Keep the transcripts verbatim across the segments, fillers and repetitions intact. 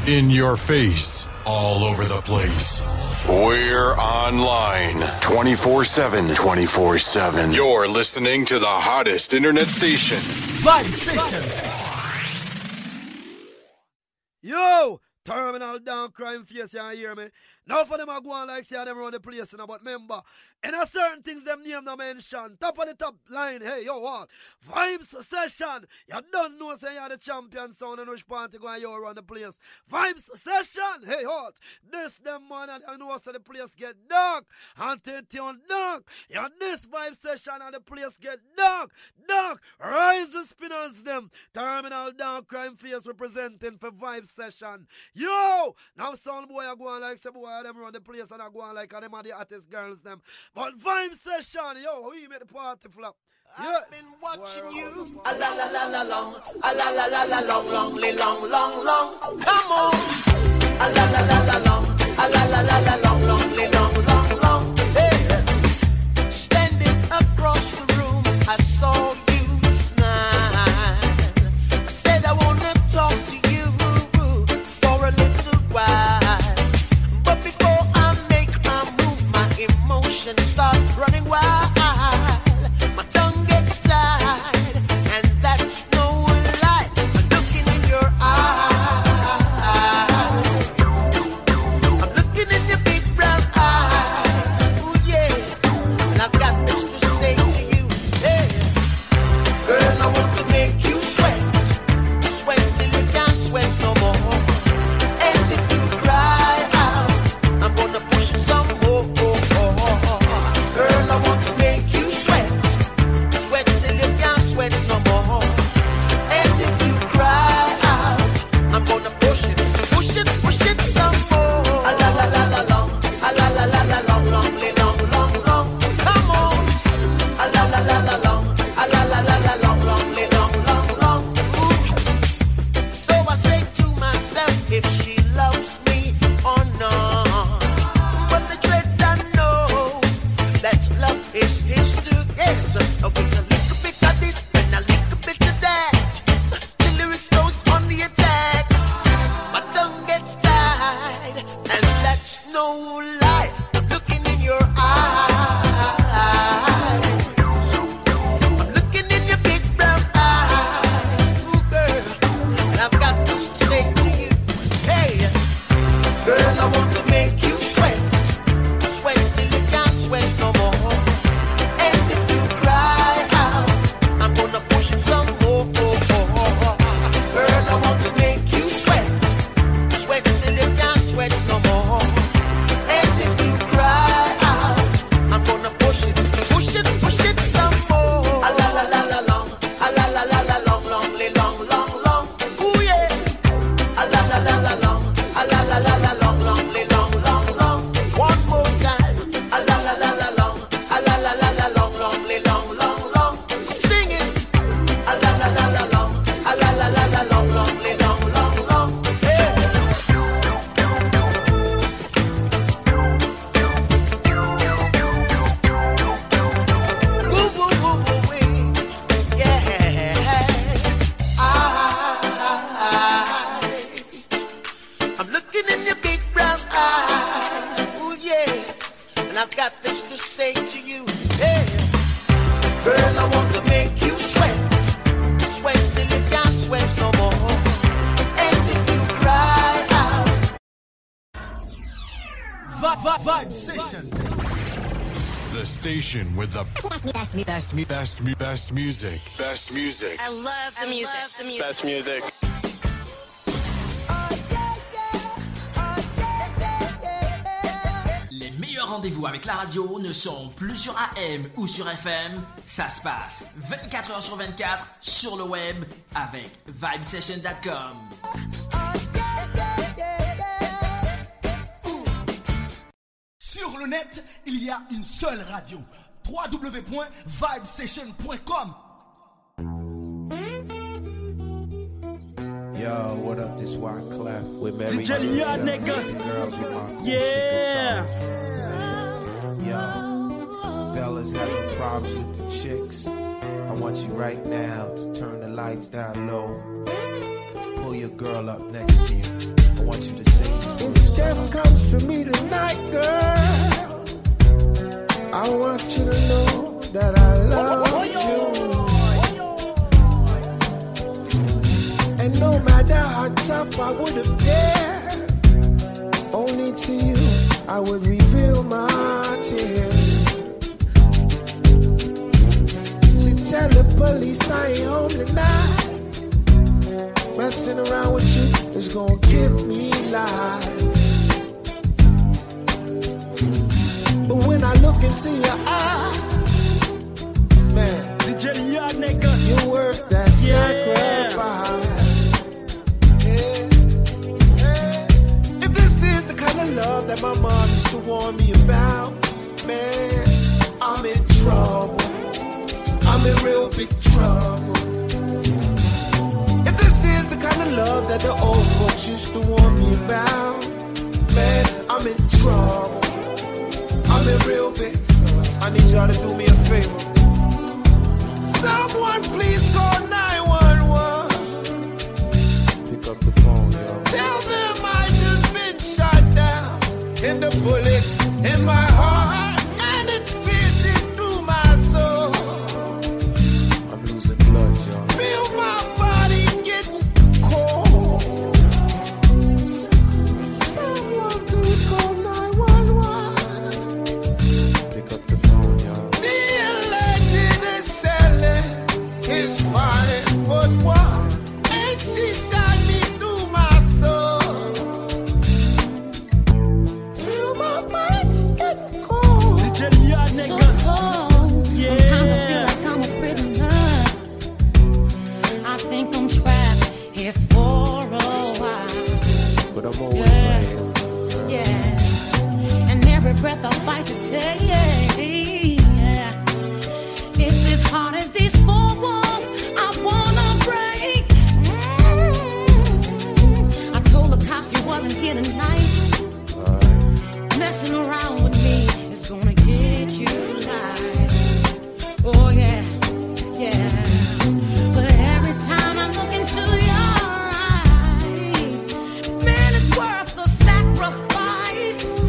In your face, all over the place. We're online twenty-four seven, twenty-four seven. You're listening to the hottest internet station. Vibe Session. Yo, Terminal down crime face, you hear me? Now for them I go on like say them run the place, you know, but remember, in a certain things them name no mention. Top of the top line, hey, yo, what? Vibes Session. You don't know say you're the champion sound and which party go and you run the place. Vibes Session. Hey, what? This them man and you know so the place get dark. Until tune dark. You this Vibe Session and the place get dark. Dark. Rise the spinners them. Terminal down crime face representing for Vibe Session. Yo! Now sound boy I go on like say boy them run the place and I go on like and them are the hottest girls them. But Vibe Session, yo, we make the party flop. Yeah. I've been watching you. A la la la la long, a la la la la long, long, long, long, long. Come on. A la la la la long, a la la la la long, long, long, long, long. Hey. Standing across the room, I saw you smile. I said I wanna talk to you for a little while. But before I make my move, my emotions start running wild. My tongue gets tied, and that's no lie. I'm looking in your eyes. I'm looking in your big brown eyes. Ooh, yeah. And I've got this to say to you. Hey. Girl, I want to make you sweat. Sweat till you can't sweat no more. And if you cry out, I'm gonna push some more. Girl, I want to make you sweat. Sweat till you can't sweat no more. And if you cry out, I'm gonna push it, push it, push it some more. A la la la la long, a la la la la long, long, long, long, long. Come on. A la la la la long, a la la la la long, long, long, long, long. Ooh. So I say to myself, if she loves me or not. But the dread I know that love is his to get. With a little bit of this and a little bit of that, the lyrics goes on the attack. My tongue gets tied, and that's no lie. I'm looking in your eyes. I'm looking in your big brown eyes. Ooh, girl, and I've got this to say to you. Hey, girl, I want to make you sweat. Sweat till you can't sweat no more. And if you cry out, I'm gonna push it some more. Girl, I want to make you sweat. Sweat till you can't sweat no more. And if you cry out, I'm gonna push it, push it, push it some more. A la la la la long, a la la la la long, long, long, long, long. Ooh yeah. A la la la la long, a la la la la long, long, long, long, long. One more time. A la la la la long, a la la la la long, long, long, long, long. Sing it. A la la la la long, a la la la la long, long, long, long, long. Yeah. Woo woo woo woo wee. Yeah. I, I'm looking in your big brown eyes. Ooh yeah. And I've got this to say to you. Yeah. Girl, I want to make you sweat. Sweat till you can't sweat no more. And if you cry out, Vibe, vibe, vibe Session. The station with the best, best, best, best, best music. Best music. I love the music. The music. Best music. Les meilleurs rendez-vous avec la radio ne sont plus sur A M ou sur F M. Ça se passe vingt-quatre heures sur vingt-quatre sur le web avec vibe session point com. Sur le net, il y a une seule radio. w w w point vibe session point com. Yo, what up? This Wyclef with Mary. D J Leon, nigga. Yeah. Yo, fellas having problems with the chicks. I want you right now to turn the lights down low. Pull your girl up next to you. I want you to say if Steph comes for me tonight, girl, I want you to know that I love you. And no matter how tough I would appear, only to you I would reveal my tears. So tell the police I ain't home tonight. Messing around with you is gonna give me life. But when I look into your eyes, man, you're worth that yeah. sacrifice. Love that my mom used to warn me about, man, I'm in trouble. I'm in real big trouble. If this is the kind of love that the old folks used to warn me about, man, I'm in trouble. I'm in real big trouble. I need y'all to do me a favor. Someone please call nine one one. Pick up the phone, yo. Tell them I just been shot down. And the bullets in my heart, and it's piercing through my soul. I'm losing blood, y'all. Feel my body getting cold. Someone please call nine one one. Pick up the phone, y'all. The legend is selling his five foot one, and she shot me through my soul. So cold. Yeah. Sometimes I feel like I'm a prisoner. I think I'm trapped here for a while. But I'm always yeah. right here. Yeah. And every breath I fight to take. Yeah. It's as hard as these four walls I wanna break. Mm-hmm. I told the cops you wasn't here tonight. Right. Messing around with me is gonna get you live. Oh yeah, yeah. But every time I look into your eyes, man, it's worth the sacrifice.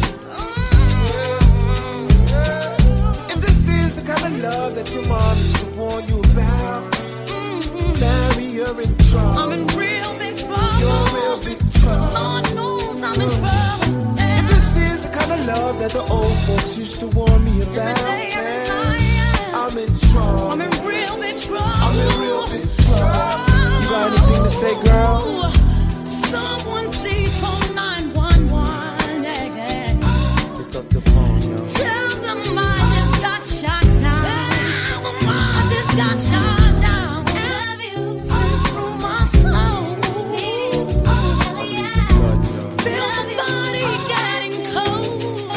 Mm-hmm. If this is the kind of love that your mom used to warn you about, mm-hmm. Mary, you're in trouble. I'm in real big trouble. You're in real big trouble. Lord knows I'm in trouble. Yeah. If this is the kind of love that the old folks used to warn me about, day, man, night, yeah. I'm in trouble. I'm in real big trouble. I'm in real big trouble. You got anything to say, girl? Someone please call nine one one. Yeah, yeah. Pick up the phone, yo. Tell them I just got shot down. I just got shot down. Have you sent through my soul? Feel the body getting cold.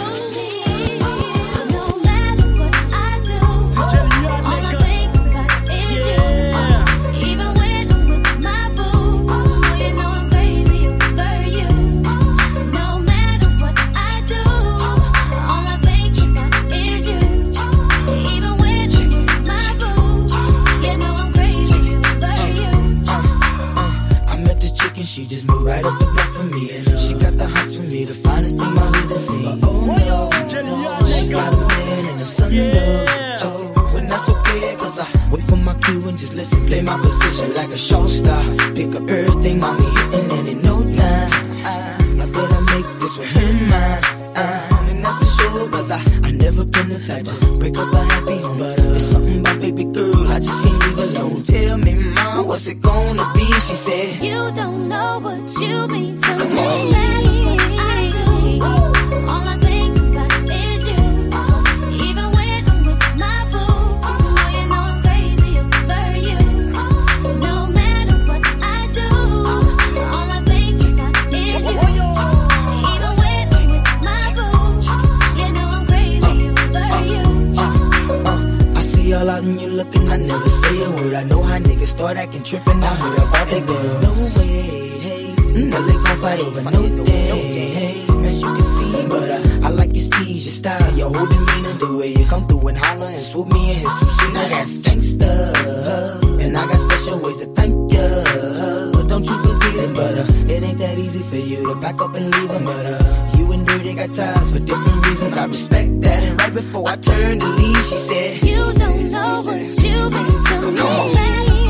No matter what I do, all I think about is you. Even when I'm with my boo, oh, you know I'm crazy over you. No matter what I do, all I think about is you. Even when you're with my boo, you know I'm crazy over you. I met this chick and she just moved right up the block for me. And uh, she got the hots for me, the finest thing my hood has seen. But oh no, no, she got a man and a son, yeah. Oh, and that's okay, cause I wait for my cue and just listen, play my position like a show star. Pick up everything, mommy hitting, and in no time, I, I better make this with her mine. Uh, and that's for sure, cause I, I never been the type to break up a happy home. But uh, it's something about baby girl, I just can't leave alone. Tell me, mom, what's it gonna be? She said, you don't know what you mean to come me. on. I do. All I think about is you. Even when I'm with my boo, oh, you know I'm crazy over you. No matter what I do, all I think about is you. Even when I'm with my boo, you know I'm crazy over you. Uh, I see all out and you looking, I never say a word. I know how niggas start acting trippin'. I heard about that girls. No way, hey. No, they gon' fight over no day, hey. As you can see, but uh, I like your steez, your style, your whole demeanor, the way you come through and holler and swoop me in his two-seater. Now that's gangsta, and I got special ways to thank ya. Don't you forget it, but uh, it ain't that easy for you. you to back up and leave her. But uh, you and Dirty got ties for different reasons. I respect that. And right before I turned to leave, she said, You don't know what you've been to me. Come on.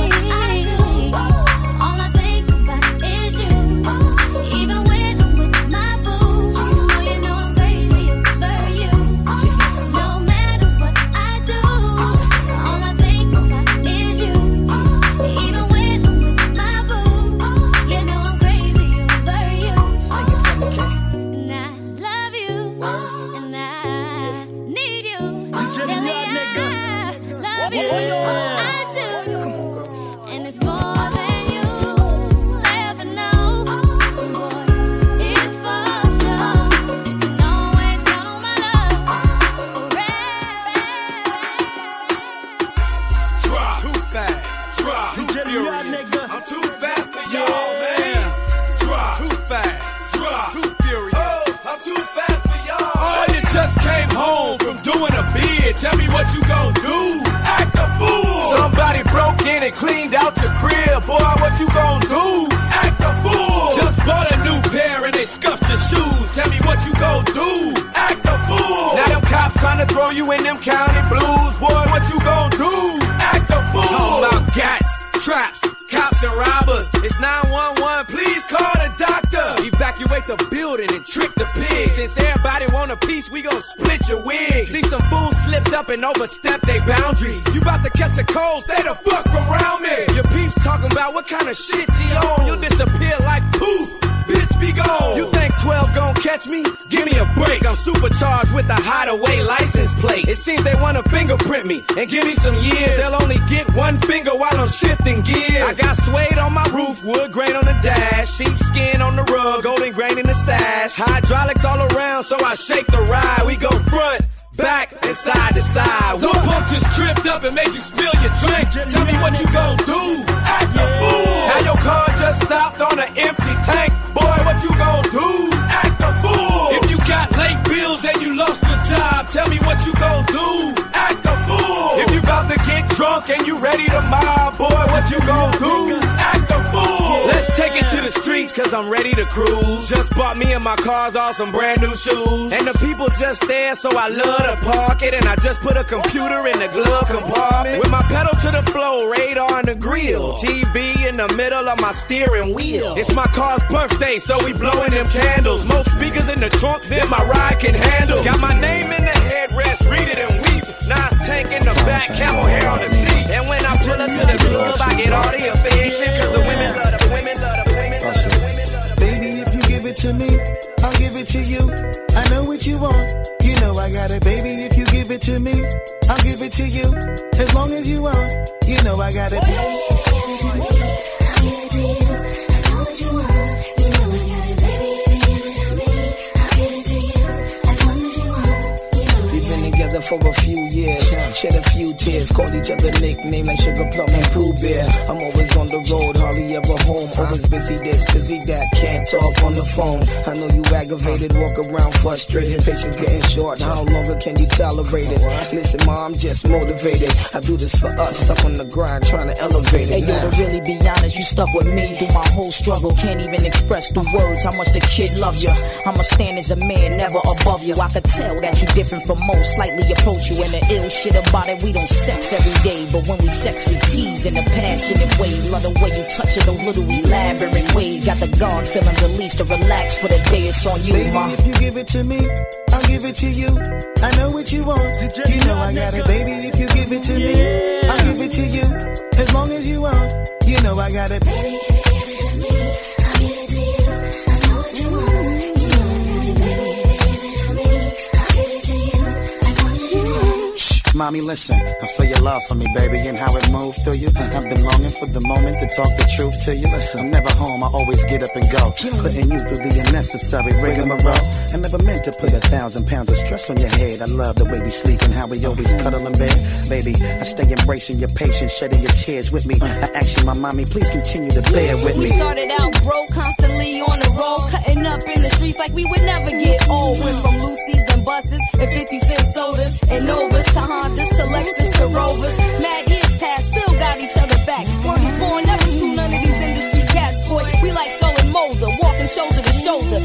Tell me what you gon' do, act a fool. Somebody broke in and cleaned out your crib. Boy, what you gon' do, act a fool. Just bought a new pair and they scuffed your shoes. Tell me what you gon' do, act a fool. Now them cops trying to throw you in them county blues. Boy, what you gon' do, act a fool. Talking about gats, traps, cops and robbers. It's nine one one, please call the doctor. Evacuate the building and trick the pigs. Since everybody want a piece, we gon' split your wig. See some fools slipped up and overstepped their boundaries. You about to catch a cold, stay the fuck from around me. Your peeps talking about what kind of shit he on. You'll disappear like poof, bitch be gone. You think twelve gon' catch me? Give me a break. I'm supercharged with a hideaway license plate. It seems they wanna fingerprint me and give me some years. They'll only get one finger while I'm shifting gears. I got suede on my roof, wood grain on the dash, sheepskin on the rug, golden grain in the stash. Hydraulics all around, so I shake the ride. We go front, back, and side to side. One pump just tripped up and made you spill your drink. Tell me what you gon' do, act a fool. Now your car just stopped on an empty tank. Boy, what you gon' do, act a fool. If you got late bills and you lost your job, tell me what you gon' do, act a fool. If you about to get drunk and you ready to mob, boy, what you gon' do, act a fool. Let's take it to the streets, cause I'm ready to cruise. Just bought me and my cars all some brand new shoes. And the people just there, so I love to park it. And I just put a computer in the glove compartment. With my pedal to the floor, radar in the grill, T V in the middle of my steering wheel. It's my car's birthday, so we blowing them candles. More speakers in the trunk than my ride can handle. Got my name in the headrest, read it and weep. Nice tank in the back, camel hair on the seat. And when I pull up to the club, I get all the affection. Cause the women love the women love the women love the women love the. Baby, if you give it to me, I'll give it to you. I know what you want, you know I got it. Baby, if you give it to me, I'll give it to you. As long as you want, you know I got it. Baby, if you give it to me, I'll give it to you. I know what you want, you know I got it. Baby, if you give it to me, I'll give it to you. As long as you want, you know I got it. We've been together for a few years, shed a few tears, called each other nicknames like Sugar Plum and Pooh Bear. I'm always on the road, hardly ever home. Always busy this, busy that, can't talk on the phone. I know you aggravated, walk around frustrated. Patience getting short, how longer can you tolerate it? Listen, ma, I'm just motivated. I do this for us, stuck on the grind, trying to elevate it. Hey, yo, to really be honest, you stuck with me through my whole struggle. Can't even express through words how much the kid loves you. I'ma stand as a man, never above you. I could tell that you different from most, slightly approach you. And the ill shit about it, we don't sex every day, but when we sex, we tease in a passionate way. Love the way you touch it, those little elaborate ways. Got the guard feeling released to relax for the day. It's on you, baby, ma. If you give it to me, I'll give it to you. I know what you want, you know I got it. Baby, if you give it to me, I'll give it to you. As long as you want, you know I got it. Baby, if you give it to me, I'll give it to you. I know what you want, you know I got it. Baby, if you give it to me, I'll give it to you. As long as you want. Shh, mommy, listen. I feel your love for me, baby, and how it moved through you. I've been longing for the moment to talk the truth to you. Listen, I'm never home, I always get up and go. Putting you through the unnecessary rigmarole. I never meant to put a thousand pounds of stress on your head. I love the way we sleep and how we always cuddle in bed. Baby, I stay embracing your patience, shedding your tears with me. I ask you, my mommy, please continue to bear with me. We started out broke, constantly on the road, cutting up in the streets like we would never get old. Went from Lucy's and buses and fifty cent sodas and Novas to Hondas to Lexus to Rovers. Mad years past, still got each other back. Word is born, never screw none of these industry cats, boy. We like Skull and Molder, walking shoulder to shoulder.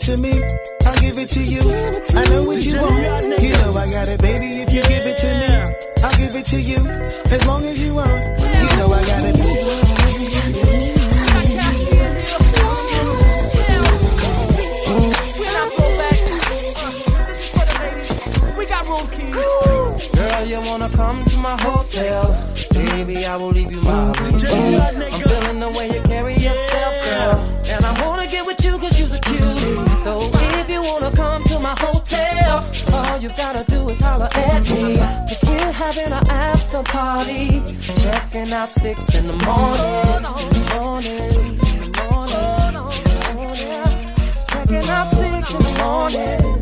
it to me, I'll give it to you. I know what you want, you know I got it, baby. If you give it to me, I'll give it to you. As long as you want, you know I got it. Girl, you wanna come to my hotel? Baby, I will leave you my room. I'm feeling the way you carry yourself, girl. And I wanna get with you cause you're a cutie. So if you wanna come to my hotel, all you gotta do is holler at me. Cause we're having an after party. Checking out six in the morning. Morning, morning, checking out six in the morning.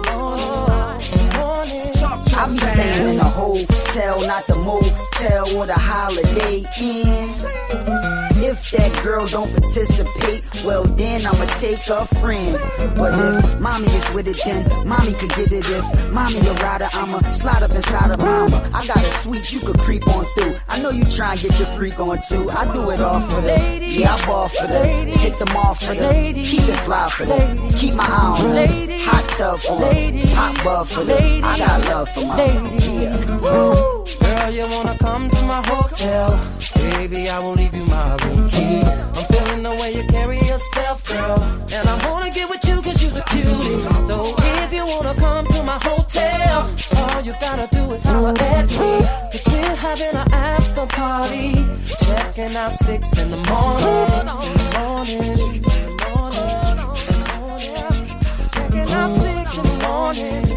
I be staying in a hotel, not the motel or the Holiday Inn. If that girl don't participate, well then I'ma take a friend. But if mommy is with it, then mommy could get it. If mommy a rider, I'ma slide up inside of mama. I got a suite you could creep on through. I know you try and get your freak on too. I do it all for them. Yeah, I ball for them. Hit them off for them. Keep it fly for them. Keep my eye on them. Hot tub for them. Hot bub for them. I got love for my yeah. Girl, you wanna come to my hotel? Baby, I will leave you my room key. I'm feeling the way you carry yourself, girl. And I wanna get with you cause you're a cutie. So if you wanna come to my hotel, all you gotta do is holler at me. Cause we're having an after party. Checking out six in the morning. Morning, morning, checking out six in the morning.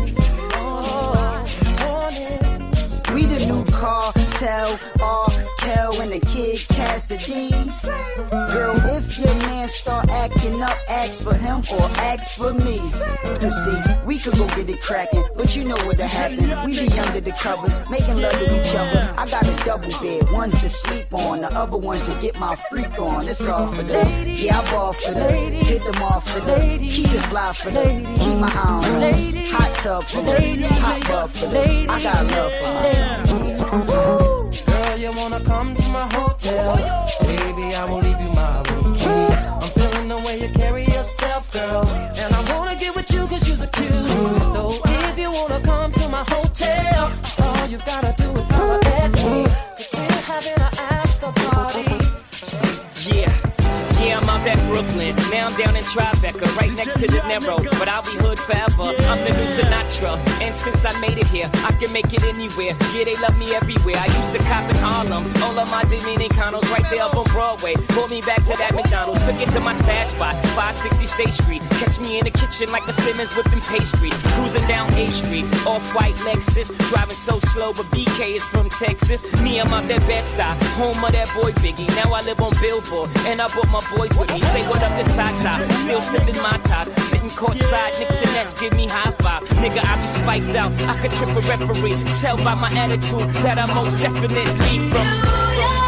We the new cartel, R. Kel and the Kid Cassidy. Girl, if your man start acting up, ask for him or ask for me. Cause see, we could go get it cracking, but you know what'll happen. We be under the covers, making love to each other. I got a double bed, one's to sleep on, the other one's to get my freak on. It's all for them. Yeah, I ball for them. Hit them off for them. Keep it fly for them. Keep my eye on them. Hot tub for them. Hot bub for them. I got love for my girl, you wanna come to my hotel? Baby, I will leave you my room key. I'm feeling the way you carry yourself, girl. And I wanna get with you cause you're a cutie. So if you wanna come to my hotel, all you gotta do is holler at me. Cause we're having an after party. Yeah. Yeah, I'm out at Brooklyn. Now I'm down in Tribeca, right next to the Narrow. But I'll be hood forever. I'm the new Sinatra. And since I made it here, I can make it anywhere. Yeah, they love me everywhere. I used to cop in Harlem. All of my Dominicanos right there up on Broadway. Pulled me back to that McDonald's. Took it to my stash spot, five sixty State Street. Catch me in the kitchen like a Simmons whipping pastry. Cruising down A Street, off-white Lexus. Driving so slow, but B K is from Texas. Me, I'm out that Bed-Stuy, home of that boy Biggie. Now I live on Billboard, and I brought my boys with me. Say what up to Tata, still sipping my top. Sitting courtside, Knicks and Nets give me high five. Nigga, I be spiked out, I could trip a referee. Tell by my attitude that I most definitely from.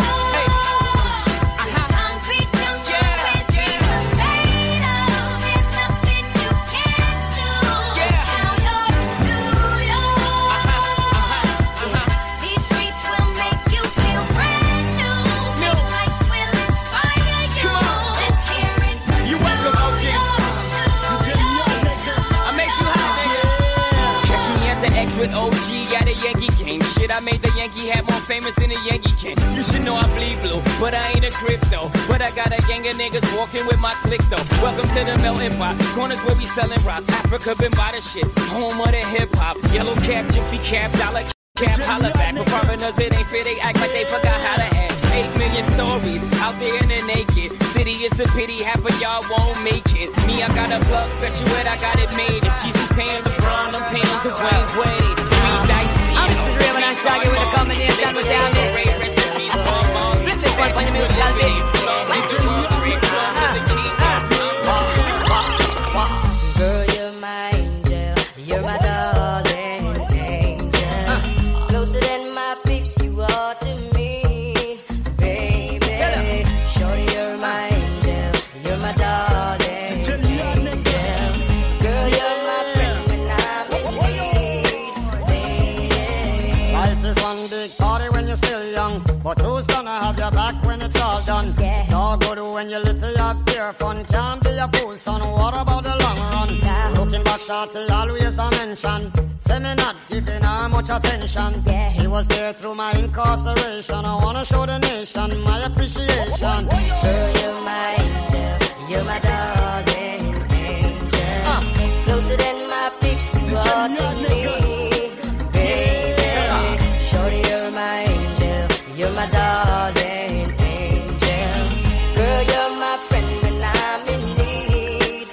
With O G at a Yankee game. Shit, I made the Yankee hat more famous than a Yankee can. You should know I bleed blue, but I ain't a crypto. But I got a gang of niggas walking with my click though. Welcome to the melting pot. Corners where we selling rock. Africa been by the shit. Home of the hip hop. Yellow cap, gypsy cap, dollar cap, holla back. For foreigners, it ain't fair. They act like they forgot how to act. Eight million stories out there in the naked city. It's a pity half of y'all won't make it. Me, I got a plug special ed, I got it made. If Jesus paying LeBron, I'm paying Dwayne Wade. Three dicey. I'm surreal when I shag it with a combination with Dallas. Split this one for the middle of Girl, you're my angel. You're my darling angel. Closer than my peeps, you are to me, baby. Shorty, you're my angel. You're my darling angel. Girl, you're my friend when I'm in need, baby. Life is one big party when you're still young, but who's gonna have your back when it's all done? Yeah. It's all good when you live for your pure fun. Can't be a fool, son. What about the long run? shorty always a mention. Say me not giving her much attention. Yeah. She was there through my incarceration. I wanna show the nation my appreciation. Girl, you're my angel, you're my darling angel. Uh. Closer than my peeps, you are to me, baby. Shorty, you're my angel, you're my darling angel. Girl, you're my friend when I'm in need,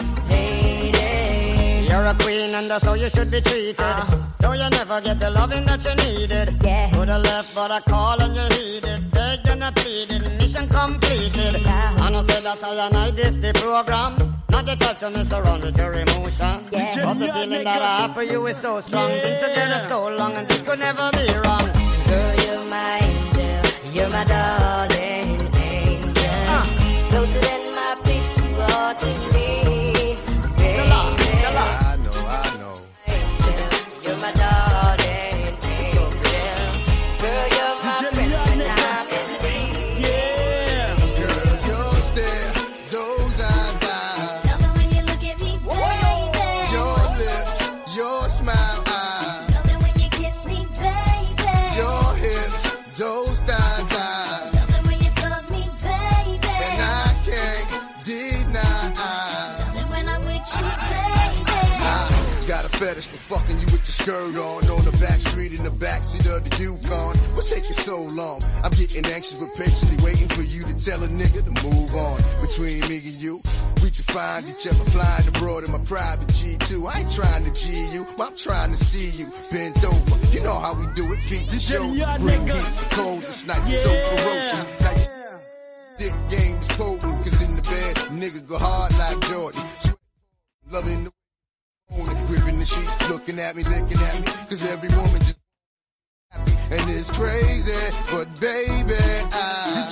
lady. You're a queen and that's how you should be treated. Uh. Though you never get the loving that you needed. Yeah. Coulda left but I call and you heeded. Begged and I pleaded, mission completed. Yeah. And I said that I and I this the program. Not the type to mess around with your emotion. Yeah. But the feeling that I have for you is so strong. Yeah. Been together so long and this could never be wrong. Girl, you're my angel, you're my darling angel. Uh. Closer than my peeps, you are to me, baby. Tell her, tell her. I know, I know. Angel, you're my darling angel. Girl, you're my friend when I'm in need. Yeah. Girl, your stare, those eyes, eyes. Love it when you look at me, baby. Your lips, your smile, eyes. Love it when you kiss me, baby. Your hips, those thighs, eyes. Love it when you fuck me, baby. And I can't deny. Love it when I'm with you, baby. I got a fetish for fucking you with your skirt on. On the back street in the backseat of the Yukon. What's taking so long? I'm getting anxious but patiently waiting for you to tell a nigga to move on. Between me and you, we can find each other flying abroad in my private G two. I ain't trying to G you, I'm trying to see you bent over. You know how we do it, feet to shows. Bring heat the coldest night, so ferocious. Now your dick game is potent, cause in the bed, nigga go hard like Jordan. Loving the gripping the sheet, looking at me, licking at me, cause every woman just happy, and it's crazy, but baby, I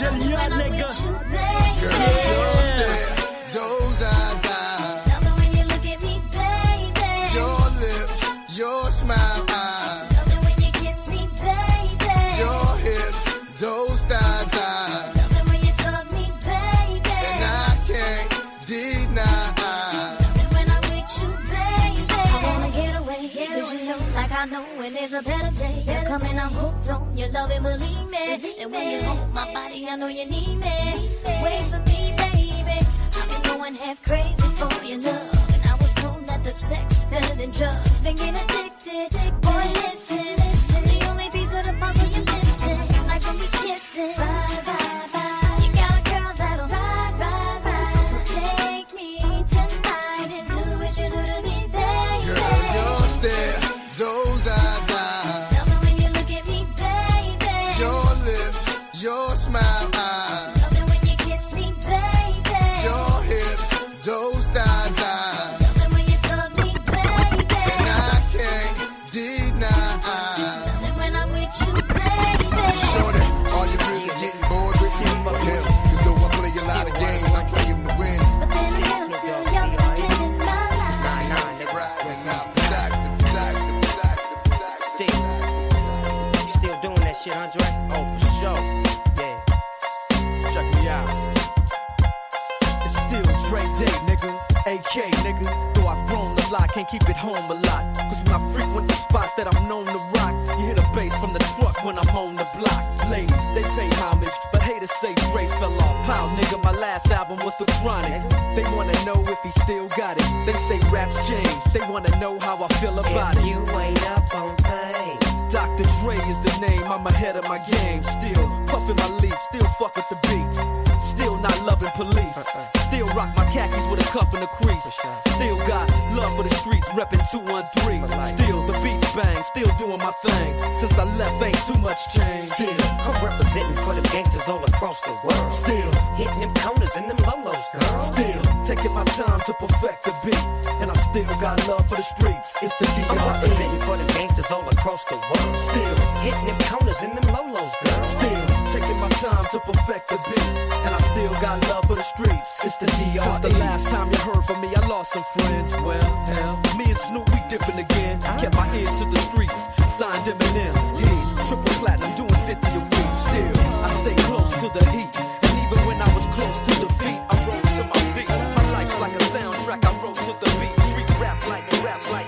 girl, your stare, those eyes, I Love it when you look at me, baby. your lips, your smile, I Love it when you kiss me, baby. your hips, those thighs, I Love it when you fuck me, baby. and I can't deny. Love it when I'm with you, baby. I wanna get away, cause you know, like I know when there's a better day. You're coming, I'm hooked on your love and believe me. And when you hold my body, I know you need me. Wait for me, baby. I've been going half crazy for your love. And I was told that the sex better than drugs. Been getting addicted, boy, listen. I'm the only piece of the puzzle you're missing. Like when we kissing. Bye, bye, bye. You got a girl that'll ride, ride, ride. So take me tonight and do what you do to me, baby. Girl, your stare, those eyes, I Love it when you look at me, baby. your lips, your smile, I Love it when you kiss me, baby. your hips, those thighs, I Love it when you fuck me, baby. and I can't deny. Love it when I'm with you, baby. Shorty, are you really getting bored with me? Or hell, cause though I play a lot of games, I play them to win. But then again, I'm still young and I'm living my life. You're riding out, beside you, beside you, beside you, beside you. Still, you still doing that shit, Andre? Oh, for sure. Yeah. Check me out. It's still Dre Day, nigga. A K, nigga. Though I've grown a lot, can't keep it home a lot. Cause when I frequent the spots that I'm known to rock, you hear the bass from the truck when I'm on the block. Ladies, they pay homage, but haters say Dre fell off. How, nigga, my last album was The Chronic. They wanna know if he still got it. They say raps change. They wanna know how I feel about If it. you ain't up on things, Doctor Dre is the name, I'm ahead of my game. Still puffin' my leaf, still fuck with the beats. Still not loving police. Still rock my khakis with a cuff and a crease. Still got love for the streets, reppin' two one three. Still the beats bang, still doing my thing. Since I left, ain't too much change. still, I'm representing for the gangsters all across the world. Still Hitting them corners and them lolos, girl. Still taking my time to perfect the beat. And I still got love for the streets. It's the D I'm R E. representing for the gangsters all across the world. Still Hitting them corners and them lolos, girl. Still taking my time to perfect the beat. And I still got love for the streets. It's the D R E. Since the last time you heard from me, I lost some friends. Well, hell, me and Snoop, we dipping again. Kept my ears to the streets. Signed Eminem. He's triple platinum, doing fifty a week. Still, I stay close to the heat. And even when I was close to defeat, I rose to my feet. My life's like a soundtrack, I wrote to the beat. Street rap like, rap like.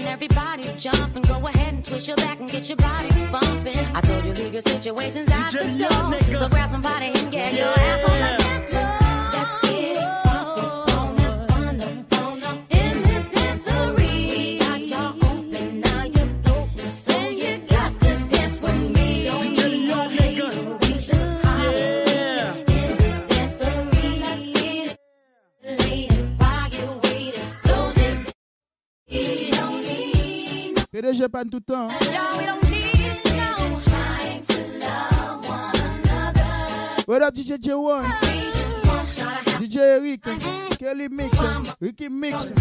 and everybody's jumping. Go ahead and twist your back and get your body bumping. I told you leave your situations out the door. So grab somebody and get your ass on the dance floor. Let's get funky on up, on up, on up in this dancery. Got y'all open, now you're floating, so you got to dance with me. Don't need no nigga. Reach the high in this dancery. Let's get it laid while you're waiting. So just you don't need no. P D G pas tout le temps. No, we don't need no. Just trying to love one another. What up, D J J one? D J Eric, Kelly Mix, Ricky Mix. D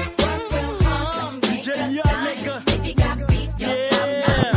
J Young nigga. Yeah.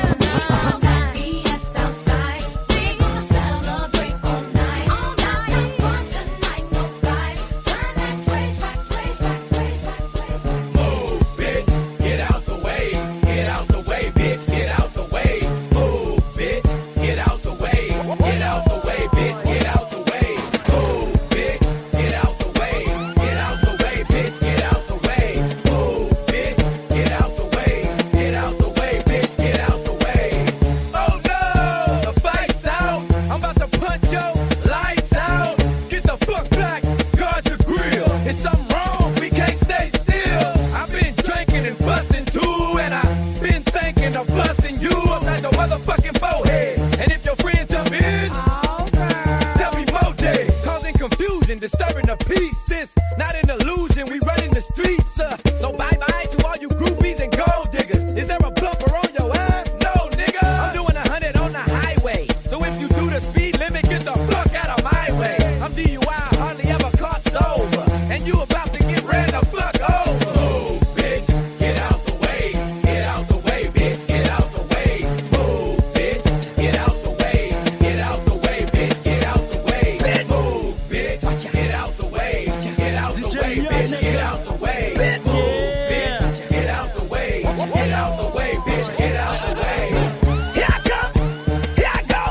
Disturbing the peace, sis. Not an illusion, we running the streets. Uh. So bye bye to all you groupies and gold diggers. Is there a bumper on your ass? No, nigga. I'm doing a hundred on the highway. So if you do the speed limit, get the fuck out of my way. I'm D U I, hardly ever caught sober. And you about to get ran the fuck over. Move, bitch, get out the way. Get out the way, bitch, get out the way. Move, bitch, get out the way. Get out the way, bitch, get out the way. Bitch, move, bitch. Get out the way, get out the way, bitch, get out the way. Bitch, move, bitch, get out the way, get out the way, bitch, get out the way. Here I come, here I go.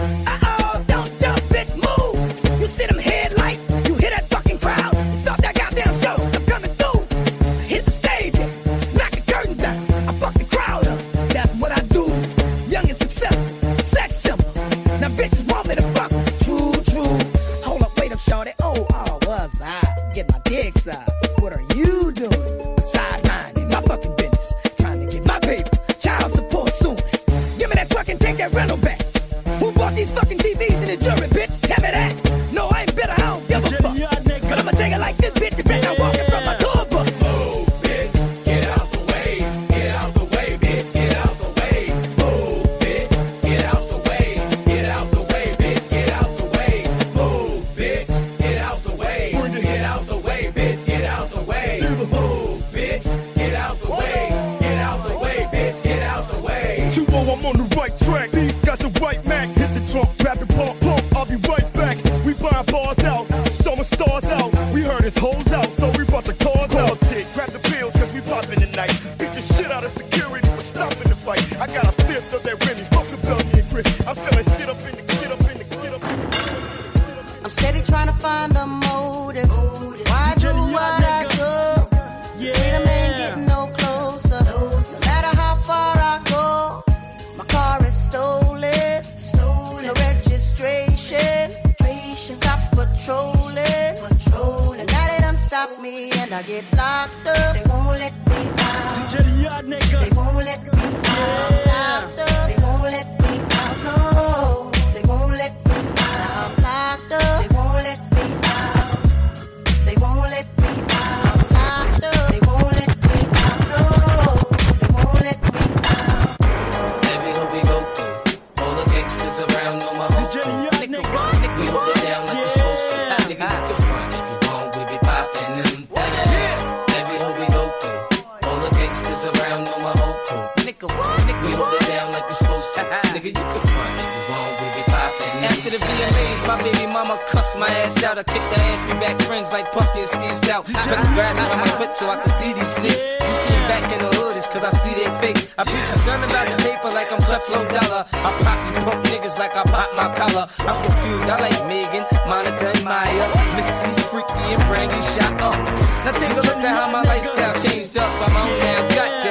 Uh-oh, don't jump, bitch, move. You see them headlights, you hear that fucking crowd. Stop that goddamn show, I'm coming through. Hit the stage, knock the curtains down. I fuck the crowd up, that's what I do. Young and successful, sex simple. Now bitches want me to fuck. True, true. Hold up, wait up, shorty. Oh, oh, was I? Get my dick sucked. What are you doing? Beside minding my fucking business. Trying to get my paper. Child support soon. Give me that fucking, take that rental back. Who bought these fucking T Vs in the jury, bitch? Tell me that. No, I ain't bitter, I don't give a fuck. But I'ma take it like this, bitch. You better not walk in from my door book. Move, bitch. Get out the way. Get out the way, bitch. Get out the way. Move, bitch. Get out the way. Get out the way, bitch. Get out the way. Move, bitch. Get out the way. Get out the way, bitch. Get out the way. Move, bitch. Get out the way. Get out the way, bitch. Get out the way. two oh, I'm on the right track. B got the right Mac. Hit the trunk, grab the pump, pump. I'll be right back. We buying bars out, summer stars out. We heard his hoes out, so we brought the cars out. Grab the pills, cause we poppin' tonight. Beat the shit out of security, we're stopping the fight. I got a fifth of that Remy, fuck the Belgian and Chris. I'm feeling shit up in the, shit up in the, shit up in the. I'm steady trying to find the motive. Why do what I do? Freedom ain't getting no closer. No matter how far I go, my car is stolen. Stolen. No registration. Cops patrolling. Patrolling. Now they done stop me and I get locked up. They won't let me out. They won't let me out. Locked up. They won't let me out. No. They won't let me out. I'm locked up. They won't let me out. They won't let me out. Locked up. They won't let me out. No. They won't let me out. Every hood we go through, all the gangsters around know my home. We hold it down like we supposed to. Nigga, you can front if you want, we be poppin' them things. Every hood we go through, all the gangsters around know my whole crew. We hold it down like we supposed to. Nigga, you can front if you want, we be poppin' them. After the V M As, my baby mama cussed my ass out. I kicked her ass, we back friends like Puffy and Steve Stout. I cut the grass around my foot so I can see these snakes. You see them back in the hood, it's cause I see they fake. I preach a sermon about the paper like I'm Creflo Dollar. I pop you punk niggas like I pop my collar. I'm confused, I like Megan, Monica and Maya. Missy's freaky and Brandy shot up. Now take a look at how my lifestyle changed up. I'm on now, goddamn.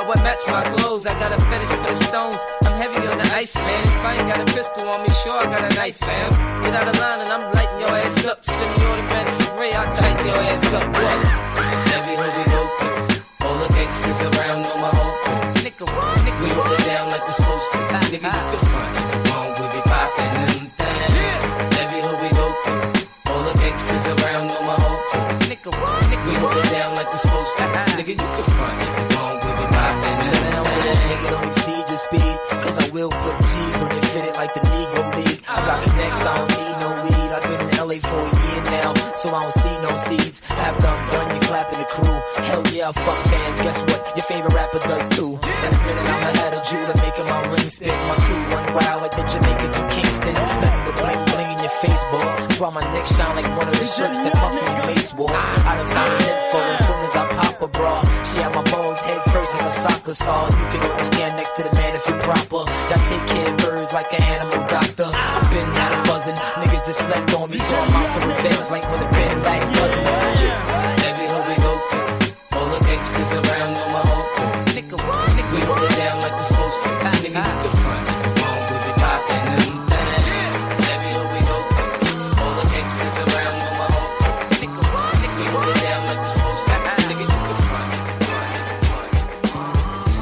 about what match my clothes. I got a fetish for the stones. I'm heavy on the ice, man. If I ain't got a pistol on me, sure I got a knife, fam. Get out of line and I'm lighting your ass up. Send me automatic spray, I'll tighten your ass up. What? Every hood we go through, all the gangsters around know my whole crew. Nigga, nigga, we hold it down like we're supposed to. Nigga, you can front if you want, we be poppin' them things. Every hood we go through, all the gangsters around know my whole crew. Nigga, nigga, we hold it down like we're supposed to. Nigga, you can front if you want, we be poppin' them things. Nigga, don't exceed your speed, cause I will put G's on your fitted like the Negro League. I got connects, I don't need no weed. I've been in L A for a year now, so I don't see no seeds. After I'm done, you clapping the crew. Hell yeah, fuck fans. Guess what? Your favorite rapper does too. In a minute, I'ma have a jeweler making my ring spin. My crew run wild like the Jamaicans in Kingston. Nothing but bling bling in your face, boy. That's why my neck shine like one of the shirts that Puffy and Mace wore. I done found an info as soon as I pop a bra. She had my balls head first like a soccer star. You can only stand next to the man if you're proper. I take care of birds like an animal doctor. I've been had a buzzing. Niggas just slept on me, so I'm out for revenge like when the pen back cousins. Every hood we go through, all the gangsters around know my whole crew. Nigga, nigga, we hold it down like we're supposed to. Nigga, you can front if you want, we be poppin' them things. Every hood we go through, all the gangsters around know my whole crew. Nigga, nigga, we hold it down like we're supposed to. Nigga, you can front if you want.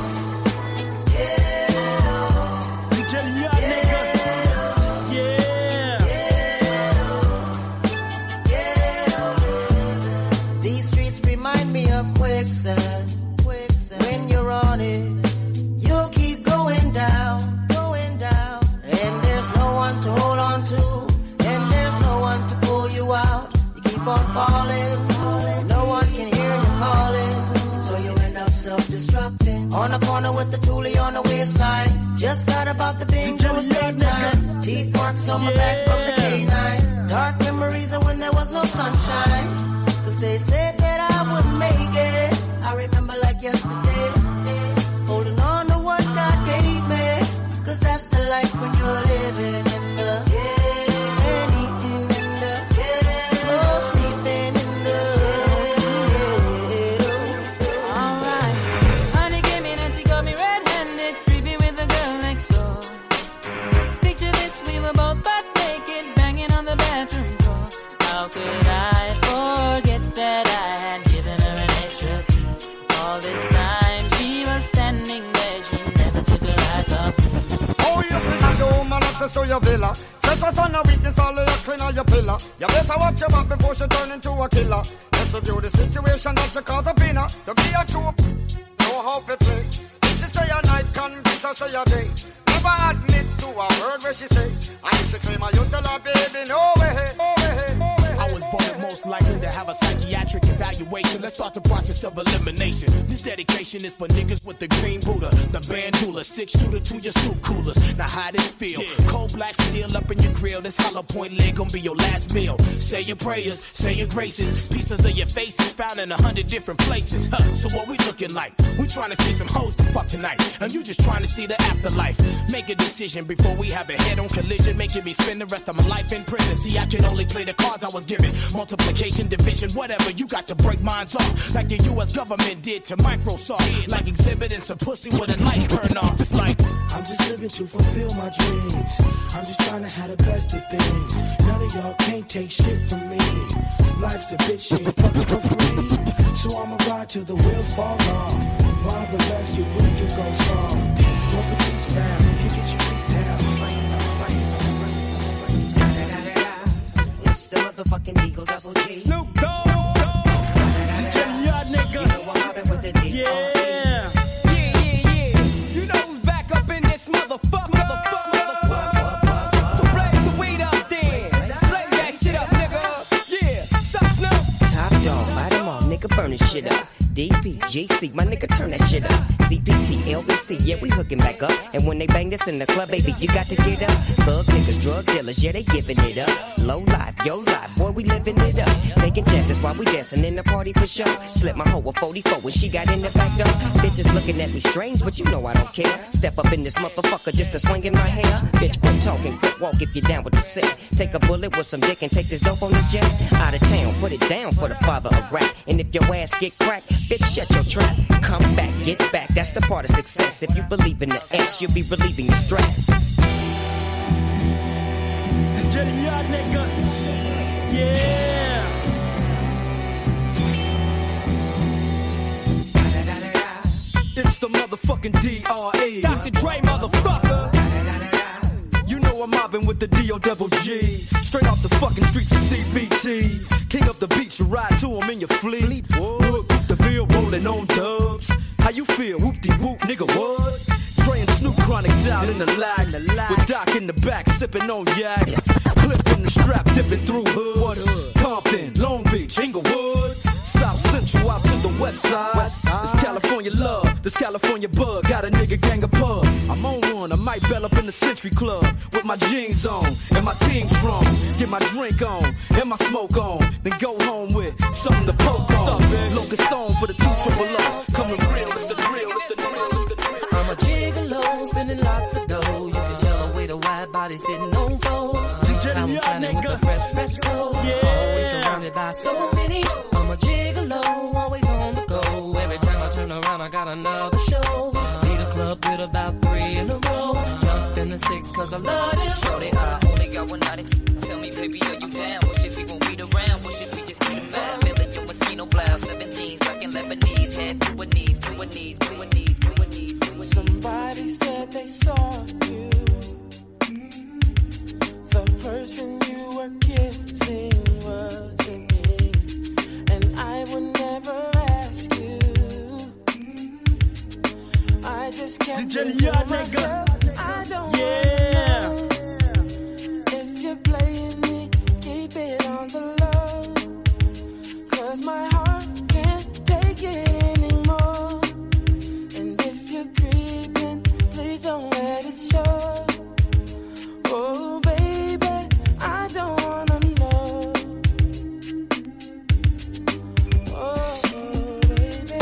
D J Yacht, nigga. These streets remind me of quicksand. quicksand. When you're on it, you'll keep going down, going down. And there's no one to hold on to, and there's no one to pull you out. You keep on falling, falling. No one can hear you calling, so you end up self-destructing. On the corner with the toolie on the waistline. Just got about the bingo estate time. Teeth marks on my back from the K nine. Dark memories of when there was no sunshine. Cause they said that I would make it. I remember like yesterday, holding on to what God gave me. Cause that's the life when you're living in the and eating in the oh, sleeping in the Alright, honey came in and she got me red-handed, creepy with the girl next door. Picture this, we were both butt naked, banging on the bathroom floor. How could I forget that I had given her an extra key? All this time she was standing there, she never took her eyes off me. Oh, you bring the woman access to your villa. Just a son of weakness, all of your clean on your pillar. You better watch your back before she turn into a killer. Let's review the situation that you call the winner. To be a true, know how to play. If she say a night, convince her say a day. Never admit to a word where she say. And if she claim her, you tell her, baby, no way, no way, no way. I was born most likely to have a psychiatric evaluation. Let's start the process of elimination. This dedication is for niggas with the green Buddha, the bandula, six shooter to your soup coolers. Now how this feel? Yeah. Cold black steel up in your grill. This hollow point leg gonna be your last meal. Say your prayers, say your graces. Pieces of your faces found in a hundred different places. Huh. So what we looking like? We trying to see some hoes to fuck tonight, and you just trying to see the afterlife. Make a decision before we have a head-on collision, making me spend the rest of my life in prison. See, I can only play the cards I was given. Multiplication, division, whatever. You got to break minds off, like the U S government did to Microsoft. Like exhibiting some pussy with the lights turned off. It's like I'm just living to fulfill my dreams. I'm just trying to have the best of things. None of y'all can't take shit from me. Life's a bitch, shit fucking for free. So I'ma ride till the wheels fall off. While the rest get weak and go soft. Drop a piece down, you get your feet down. It's the motherfucking Eagle Double G. Snoop Dogg. Y'all nigga. You know what happened with the D. Yeah. Yeah, yeah, yeah. You know who's back up in this motherfucker. Motherfucker, motherfucker. So blaze the weed up then. Blaze that shit up, nigga. Yeah. Sup, Snoop? Top dog, light 'em all, nigga, burn this shit up. D P, G C, my nigga, turn that shit up. C P T, L B C, yeah, we hooking back up. And when they bang this in the club, baby, you got to get up. Thug niggas, drug dealers, yeah, they giving it up. Low life, yo life, boy, we living it up. Taking chances while we dancing in the party for sure. Slip my hoe a forty-four when she got in the back door. Bitches looking at me strange, but you know I don't care. Step up in this motherfucker just to swing in my hair. Bitch, quit talking, quit walk if you're down with the set. Take a bullet with some dick and take this dope on this jet. Out of town, put it down for the father of rap. And if your ass get cracked, bitch, shut your trap. Come back, get back, that's the part of success. If you believe in the X, you'll be relieving your stress. D J Yacht, nigga. Yeah. It's the motherfucking D R E. Doctor Dre, motherfucker. You know I'm mobbing with the D O double G. Straight off the fucking streets of C B T. King up the beach, you ride to him in your fleet. Look, the field rolling on dubs. How you feel? Whoop-de-whoop, nigga, what? Dre and Snoop Chronic down in the lag. With Doc in the back, sipping on yak. Clip in the strap, dipping through hood. Compton, Long Beach, Inglewood. South Central out to the west side. West side. This California love, this California bug. Got a nigga gang of pub. I'm on one, I might bell up in the Century Club. With my jeans on, and my team strong. Get my drink on, and my smoke on. Then go home with something to poke on. Locust on for the two triple O. Coming real, it's the real, it's the real, it's the real. I'm a gigolo, spending lots of dough. You can tell the way the wide body sitting on foes. I'm shining with the fresh, fresh clothes. Always surrounded by so many. I'm a gigolo, always on the go. Every time I turn around, I got another show. Lead a club with about three in a row. Jump in the six, cause I love it. Shorty, I only got one night. Tell me, baby, are you down? Wishes we won't beat around. Wishes we just get a man. Million mosquito blouse, seven jeans, like in Lebanese. Head to a knees, to a knees, to a knees, to a knees, to a knees. Somebody said they saw you. The person you were kissing wasn't me. And I would never ask you. I just can't D J think Yacht, to myself. I don't yeah. know. If you're playing me, keep it on the low. Cause my heart can't take it anymore. And if you're creeping, please don't let it show. Oh baby, I don't wanna know. Oh baby,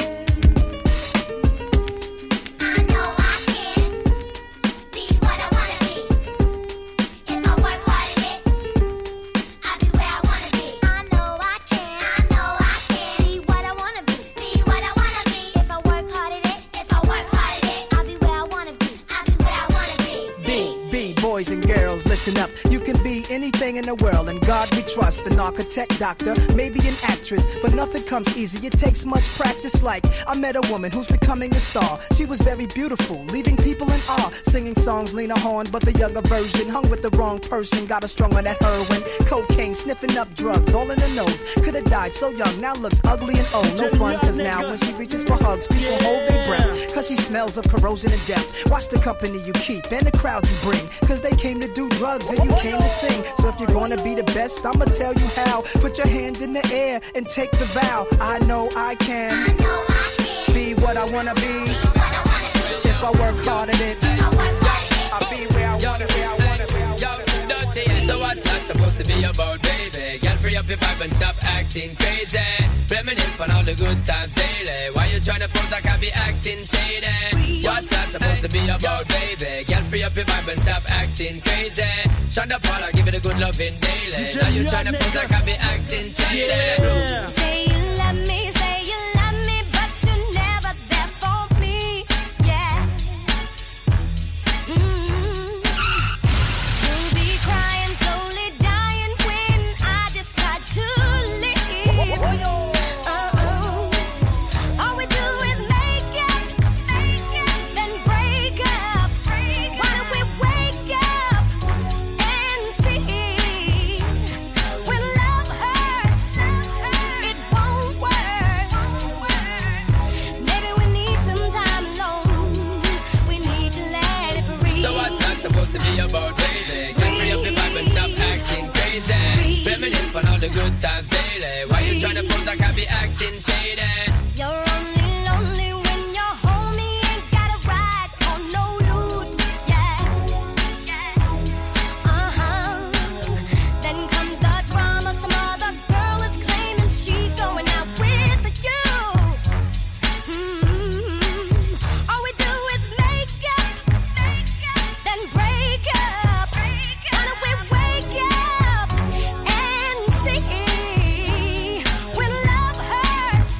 I know I can be what I wanna be. If I work hard at it, I'll be where I wanna be. I know I can, I know I can be what I wanna be. Be what I wanna be. If I work hard at it, if I work hard at it, I'll be where I wanna be. I'll be where I wanna be. B, B, boys and girls, listen up. You can be anything in the world, and God we trust. An architect, doctor, maybe an actress, but nothing comes easy. It takes much practice. Like I met a woman who's becoming a star. She was very beautiful, leaving people in awe. Singing songs, Lena Horne, but the younger version. Hung with the wrong person, got her strung on that heroin, cocaine, sniffing up drugs, all in the nose. Could have died so young, now looks ugly and old. No fun, cause now when she reaches for hugs, people hold their breath. Cause she smells of corrosion and death. Watch the company you keep and the crowd you bring. Cause they came to do drugs and you came to sing. So if you're gonna be the best, I'ma tell you how. Put your hand in the air and take the vow. I know I can, I know I can. Be what I wanna be. Be what I wanna be. If I work hard at it, I'll be where I wanna be. I wanna be. Yo, dirty, so what's that supposed to be about, baby? Girl, free up your vibe and stop acting crazy. Reminisce on all the good times daily. Why you tryna pose like I be acting shady? What's that supposed to be about, baby? Girl, free up your vibe and stop acting crazy. Shonda Paula, give it a good loving daily. Now you tryna pose like I be acting shady. You say you love me, say you love me, but you're never there for me. Yeah. Mm-hmm. You'll be crying, slowly dying when I decide to leave. Uh-uh. All we do is make up, then break up. Why don't we wake up and see when love hurts, it won't work. Maybe we need some time alone. We need to let it breathe. So what's that supposed to be about, baby? Get free up your vibe and stop acting crazy. Reminisce on all the good times daily. Why you tryna pose like I be acting shady? You're only lonely when your homie ain't got a ride or no loot. Yeah. Uh-huh. Then comes the drama. Some other girl is claiming she's going out with you. Hmm. All we do is make up, then break up. Why don't we wake up and see when love hurts,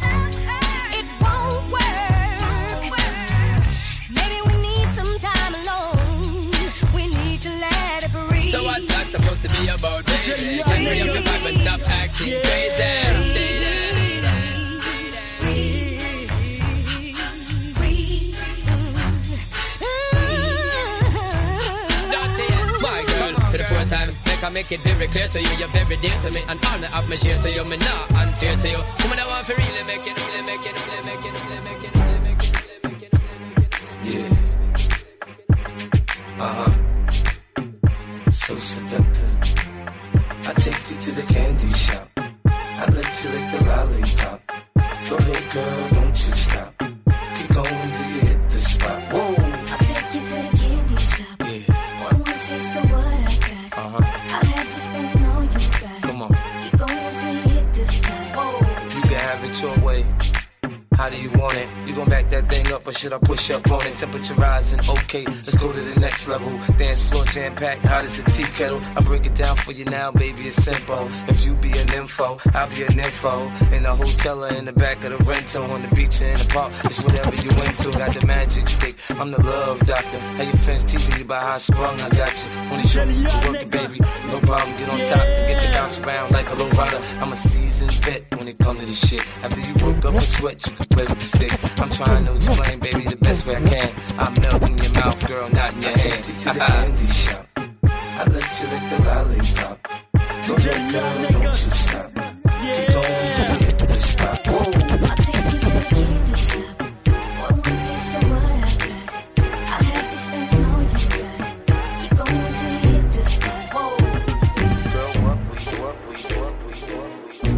I make it very clear to you, you're very dear to me. And honor of my share to you, me not unfair to you. Woman, I want to really make it, really make it, really make it, really make it, really make it, really make it, really make it. Yeah. Uh-huh. So seductive. I take you to the candy shop. I let you lick the lollipop. Go ahead, girl, don't you stop. Keep going till you hit the spot. Whoa. I'll take you to the candy shop. Yeah. One more taste of what I got. Uh-huh. I'll have you spending all you got. Come on. Keep going till you hit the spot. Whoa. You can have it your way. How do you want it? You gon' back that thing up or should I push up on it? Temperature rising, okay, let's go to the next level. Dance floor jam packed, hot as a tea kettle. I break it down for you now, baby, it's simple. If you be an info, I'll be an info. In the hotel or in the back of the rental, on the beach or in the park, it's whatever you into. Got the magic stick, I'm the love doctor. Have your friends teasing you about how I sprung, I got you. Wanna show me you can work it, baby, no problem. Get on top, then get the bounce around like a low rider. I'm a seasoned vet when it comes to this shit. After you woke up and sweat, you can play with the stick. I'm trying to explain, baby, the best way I can. I melt in your mouth, girl, not in your hand. I take you to the candy shop. I let you lick the lollipop. Go ahead, girl, don't you stop. Keep going till you hit the spot. Whoa. I'll take you to the candy shop. One more taste of what I got. I'll have you spending all you got. Keep going till you hit the spot. Whoa. Girl, what we, what we, what we, what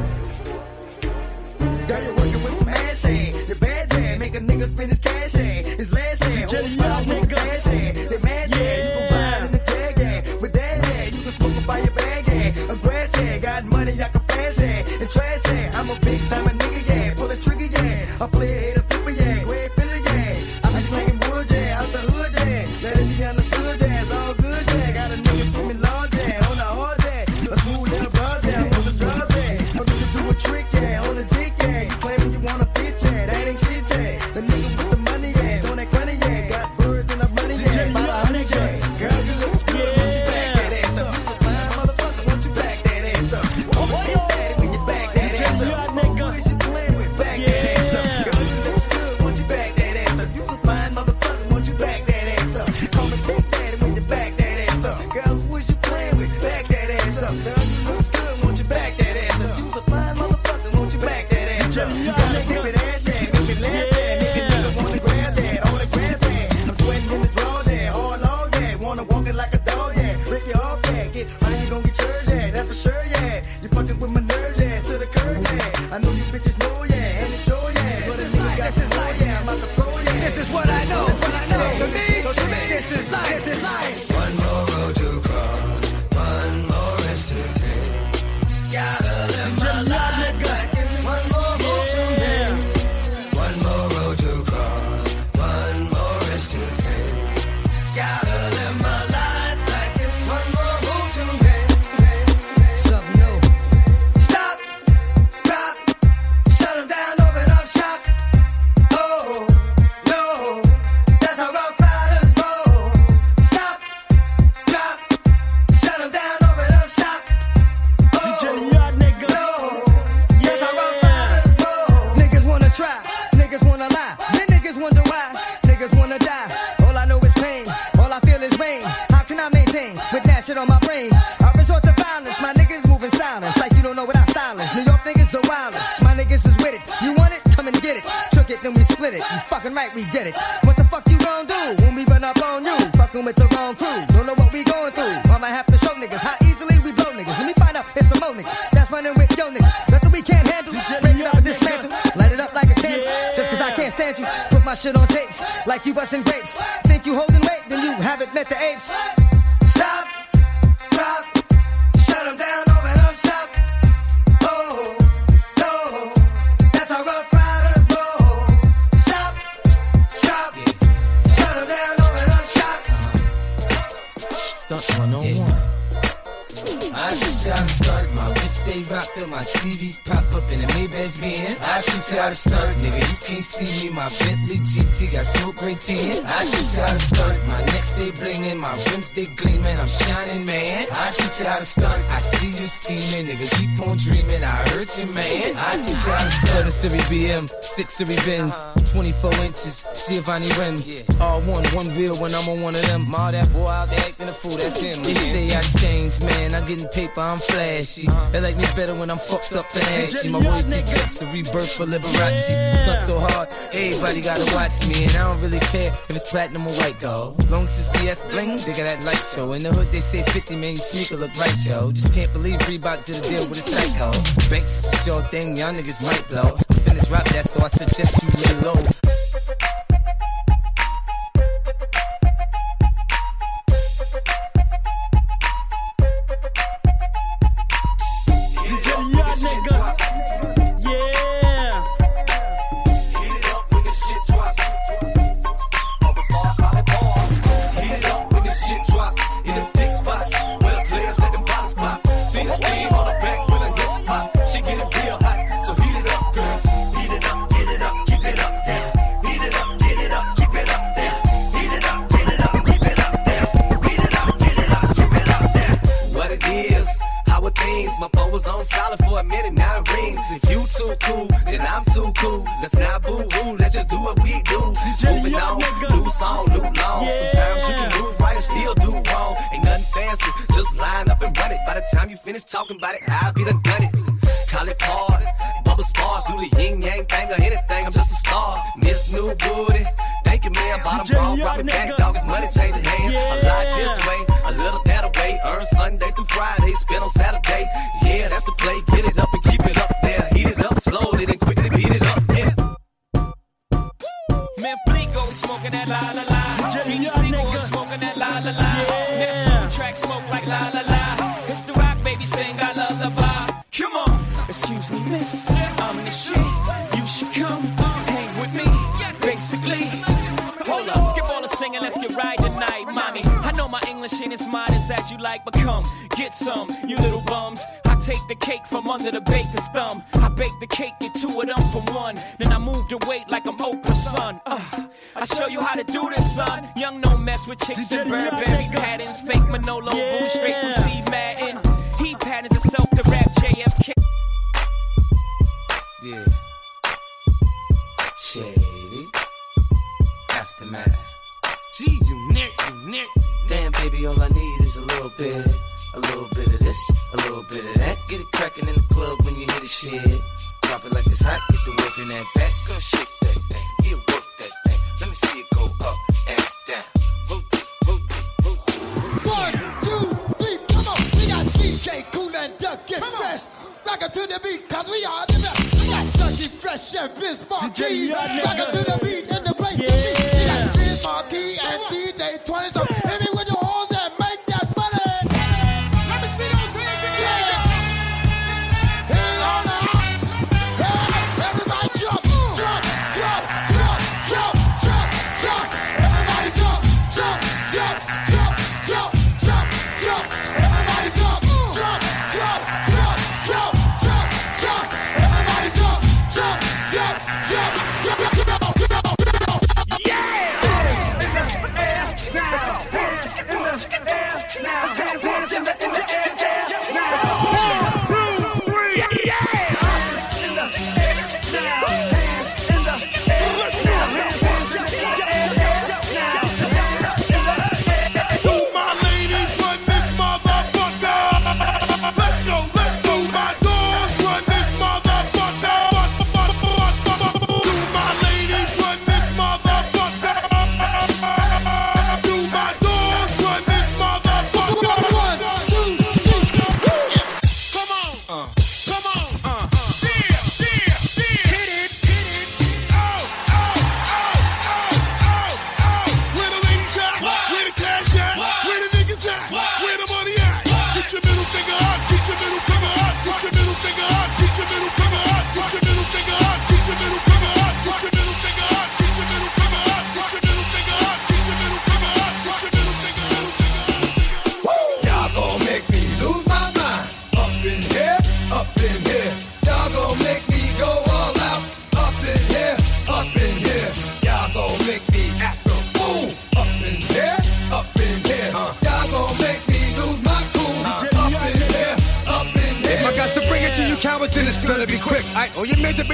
we. Girl, you're working with some ass hand. Your bad hand make a nigga spend his cash hand. His last hand, hold fire with a cash hand. They mad hand, you gon' buy it in the jag hand. With that hand, you can smoke it by your bag hand. A grass hand, got money, I can fast hand. And trash hand, I'm a big time a nigga, yeah. Pull a trigger, yeah. I play a hater, flipper, yeah. Go ahead, fill it, yeah. I be slanging wood, yeah. Out the hood, yeah. Let it be understood, yeah. It's all good, yeah. Got a nigga screaming large, yeah. On the hard, yeah. A smooth little buzz, yeah. On the drugs, yeah. I'm gonna do a trick, yeah. On the dick, yeah. You claiming you wanna fit, yeah. That ain't shit, yeah. The nigga with the money, yeah. Don't act funny, yeah. Got birds and the money, yeah. About a hundred, yeah. Girl, you look good, won't you back that ass up? You a fine motherfucker, won't you back that ass up? You always get daddy when you back that ass up. Who is you playing with? Back that ass up. Girl, you look good, won't you back that ass up? You a fine motherfucker, won't you back that ass up? Call me big daddy when you back that ass up. Girl, who is you playing with? Back that ass up. Girl, you look good, won't you back that ass up? You a fine motherfucker, won't you back that ass up? You gotta give it ass, yeah. Make me laugh, yeah. Make a nigga wanna grab that, on the grab that. I'm sweating in the drawers, yeah. Hard log, yeah. Wanna walk it like a dog, yeah. Break it off, yeah. Get money, you gon' get yours, yeah. That for sure, yeah. You fucking with my nerves, yeah. To the curb, yeah. I know you bitches know, yeah. And it's sure, yeah. But a nigga got some more, yeah. I'm out the pro, yeah. This is what I know. What I know. To me, to me, this is life. This is life. One more road to cross, one more rest to take. Gotta live my life like it's one more move to make. One more road to cross, one more rest to take. Gotta live my life like it's one more move to make. Something new. Stop, drop, shut 'em down, open up shop. Oh, no, that's how rough riders roll. Stop, drop, shut 'em down, open up shop. Oh, no, that's how rough riders roll. Niggas wanna try, niggas wanna lie. Then niggas wonder why, niggas wanna die. All I know is pain, all I feel is rain. How can I maintain with that shit on my brain? I resort to violence, my niggas moving silence. Like you don't know what I'm styling. New York niggas the wildest, my niggas is with it. You want it? Come and get it. Took it, then we split it. You fucking right, we did it. What the fuck you gon' do when we run up on you? Fucking with the wrong crew, don't know what we going through. I'ma have to show niggas how easily we blow niggas. Let me find out it's some more niggas that's running with yo niggas. Nothing we can't handle, break it up and dismantle. Light it up like a candle, just cause I can't stand you. Put my shit on tapes, like you busting grapes. Think you holding weight, then you haven't met the apes. Stop, drop, shut 'em down, open up shop. Oh, no, that's how rough riders roll. Stop, drop, shut 'em down, open up shop. Stunt one oh one. I should try to start my wrist stay rocked till my T Vs pop up and the Maybach's being in. I teach you how to stunt, nigga. You can't see me. My Bentley G T got so great tin. I teach you how to stunt. My neck stay blingin', my rims they gleamin'. I'm shining, man. I teach you how to stunt. I see you scheming, nigga. Keep on dreaming. I hurt you, man. I teach you how to stunt. Seven Series B M, six Series Benz, twenty-four inches, Giovanni rims. All one, one wheel when I'm on one of them. All that boy out there acting a fool, that's him. They say I changed, man. I getting paper, I'm flashy. They like me better when I'm fucked up and ashy. My boy keep checks the rebirth for Liberace. Stunt so hard, everybody gotta watch me. And I don't really care if it's platinum or white gold. Long as it's B S bling, they got that light show. In the hood they say fifty, man, your sneaker look right, yo. Just can't believe Reebok did a deal with a psycho. Banks is a sure thing, y'all niggas might blow. I'm finna drop that, so I suggest you lay low. Talking about it, I'll be done done it. Call it party, bubble spars, do the yin yang thing or anything. I'm just a star. This new booty, thank you, man. Bottom wrong, robbing back, dog. It's money changing hands. A lot this way, a little that way. Earn Sunday through Friday, spend on Saturday. Yeah, that's the play. Get it up and keep it up there. Heat it up slowly, then quickly beat it up. Yeah. Man, Bleak always smoking that la la la. Beanie Siegel always smoking that la la la. Neptune track smoke like la la la. It's the rock, baby, sing I lullaby. Come on, excuse me, miss, I'm in the shit. You should come hang with me, basically. Hold up, skip all the singing, let's get right tonight, mommy. I know my English ain't as modest as you like, but come, get some, you little bums. I take the cake from under the baker's thumb. I bake the cake, get two of them for one. Then I move the weight like I'm Oprah's son. Uh, I show you how to do this, son. Young no mess with chicks and Burberry patterns. Fake Manolo, boo, straight from Steve Madden. He patterns himself to rap J F K. Yeah. Shady. Aftermath. Gee, you nick, you nick. Damn, baby, all I need is a little bit. A little bit of this, a little bit of that. Get it crackin' in the club when you hear the shit. Drop it like it's hot, get the work in that back. Go shake that thing, yeah, work that thing. Let me see it go up and down. Rotate, rotate, rotate. One, two, three, come on. We got D J Kool and Duck, get fresh. Rock it to the beat, cause we are the best. We got Ducky Fresh and Vince Marquis. Rock it to the beat in the place to be. We got Vince Marquis and D J twenty. So hit me with your horns and make that money. Let me see those hands in the air. Hang on now. Hey, everybody jump, jump, jump, jump, jump, jump, jump. Everybody jump, jump, jump, jump, jump, jump, jump. Everybody jump, jump, jump, jump, jump, jump, jump. Everybody jump, jump, jump, jump, jump, jump, jump, jump. Yeah!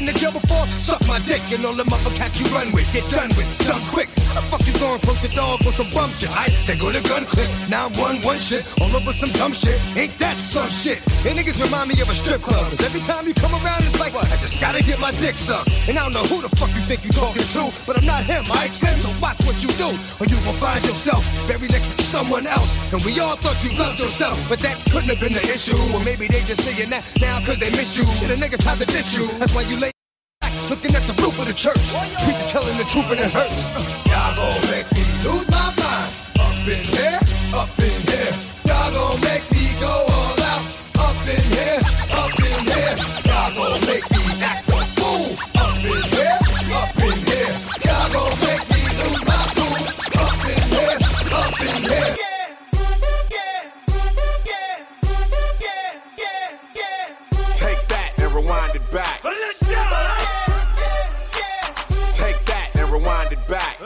to jail before? Suck my dick and all the motherfuckers you run with. Get done with, done quick. The fuck you going post a dog with some bum shit? I they go to gun clip. Now I'm one one shit, all over some dumb shit. Ain't that some shit? And niggas remind me of a strip club. Cause every time you come around, it's like, I just gotta get my dick sucked. And I don't know who the fuck you think you talking to, but I'm not him, I extend. So watch what you do, or you will find yourself buried next to someone else. And we all thought you loved yourself, but that couldn't have been the issue. Or maybe they just saying that now cause they miss you. Shit, a nigga tried to diss you. That's why you lay back, looking at the roof of the church. Preacher telling the truth and it hurts. Y'all gon' make me lose my mind. Up in here, up in here. Y'all gon' make me go all out. Up in here, up in here. Y'all gon' make me act a fool. Up in here, up in here. Y'all gon' make me lose my cool. Up in here, up in here. Take that and rewind it back. Take that and rewind it back.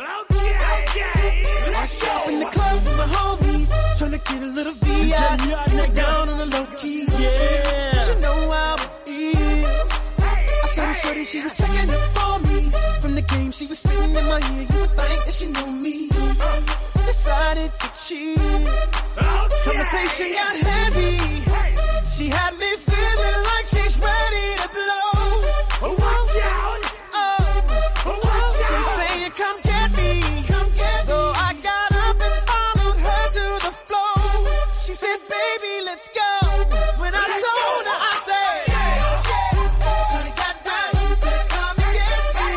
I shop in the club with my homies, tryna get a little V I down on the low key. Yeah, she know how it is. I saw the shorty, she was checking it for me. From the game, she was spitting in my ear. You would think that she knew me. Decided to cheat. Conversation got heavy. She had me feeling like she's ready to blow. Watch out! Oh, she's saying, "Come get me." So I got up and followed her to the floor. She said, "Baby, let's go." When I told her, I said, "Shorty got down." She said, "Come and get me."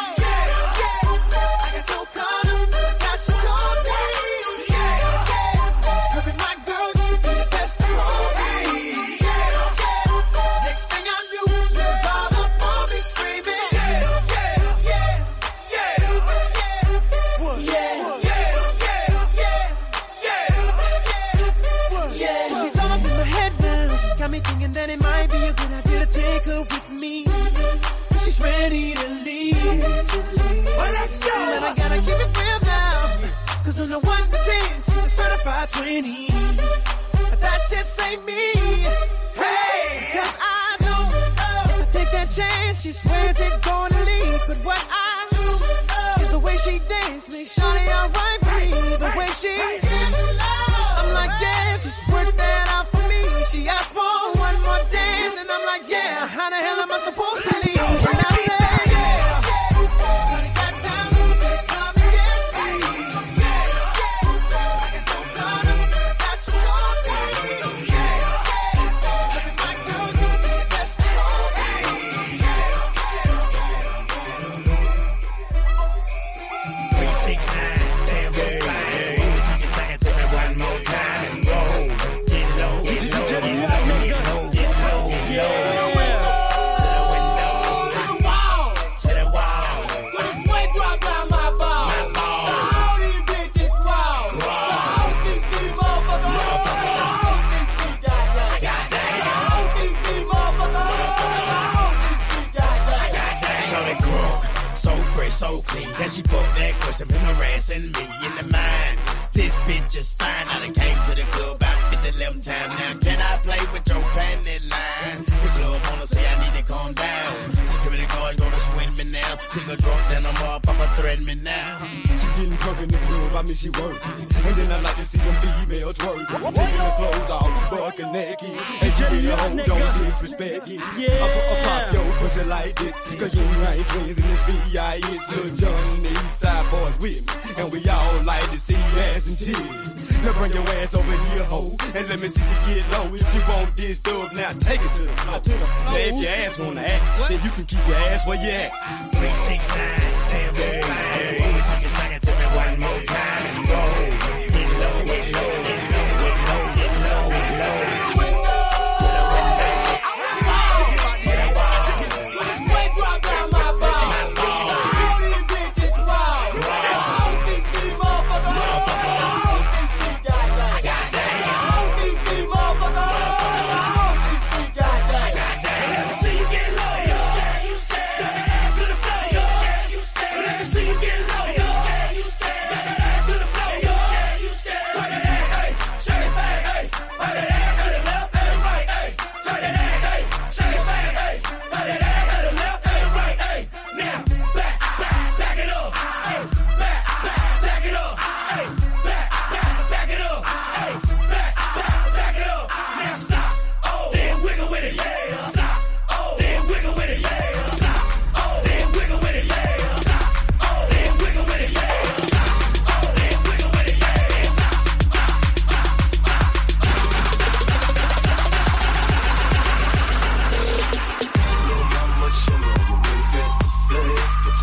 I got so caught up, forgot she told me. Her and my girl used to be the best for me. Next thing I knew, she was all up on me screaming. Yeah, yeah, yeah, yeah, yeah. She's all up in my head now. Got me thinking that it might be a good idea to take her with me. She's ready to leave. Well, let's go. And I gotta keep it real now. Cause on the one to ten, she's a certified twenty. But that just ain't me. Hey, cause I know if I take that chance, she swears it's gonna leave. But what I do is the way she dance makes Shawty alright with me. The way she I'm like, yeah, just work that out for me. She asked for one more dance, and I'm like, yeah, how the hell am I supposed to leave? And I said, yeah. Shawty got down, said, "Come and get me." I got so caught up, got she told me. Look at my girl, you be the best for me. three six nine, damn, you're fine. You can sing it to me one more time and go. Get low, get low, get low, get low, get low, get low. To the wall. So the boy drop down my ball. My ball. So all these bitches raw. So all these these motherfuckers. All these these goddamn. All these these motherfuckers. All these these goddamn. So they crook, so fresh, so clean. Then she put that question, been harassing me in the mind. This bitch is fine. I done came to the club about fifty eleven times now. Can I play with your panty line? The club wanna say I need to calm down. Security guards gonna swing me now. Nigga drunk, then I'm up, Papa threaten me now. She getting drunk in the club, I mean she working. And then I like to see them females twerking. Taking the clothes off, fucking naked. And she get a hoe, don't disrespect it. I put a pop your pussy like this. Cause you ain't twins in this V I. It's Lil Jon and the East Side boys with me. And we all like to see ass and titties. Now bring your ass over here, ho. And let me see you get low. If you want this dub, now take it to the floor. Now if your ass wanna act, then you can keep your ass where you at. three six nine, damn, you're fine.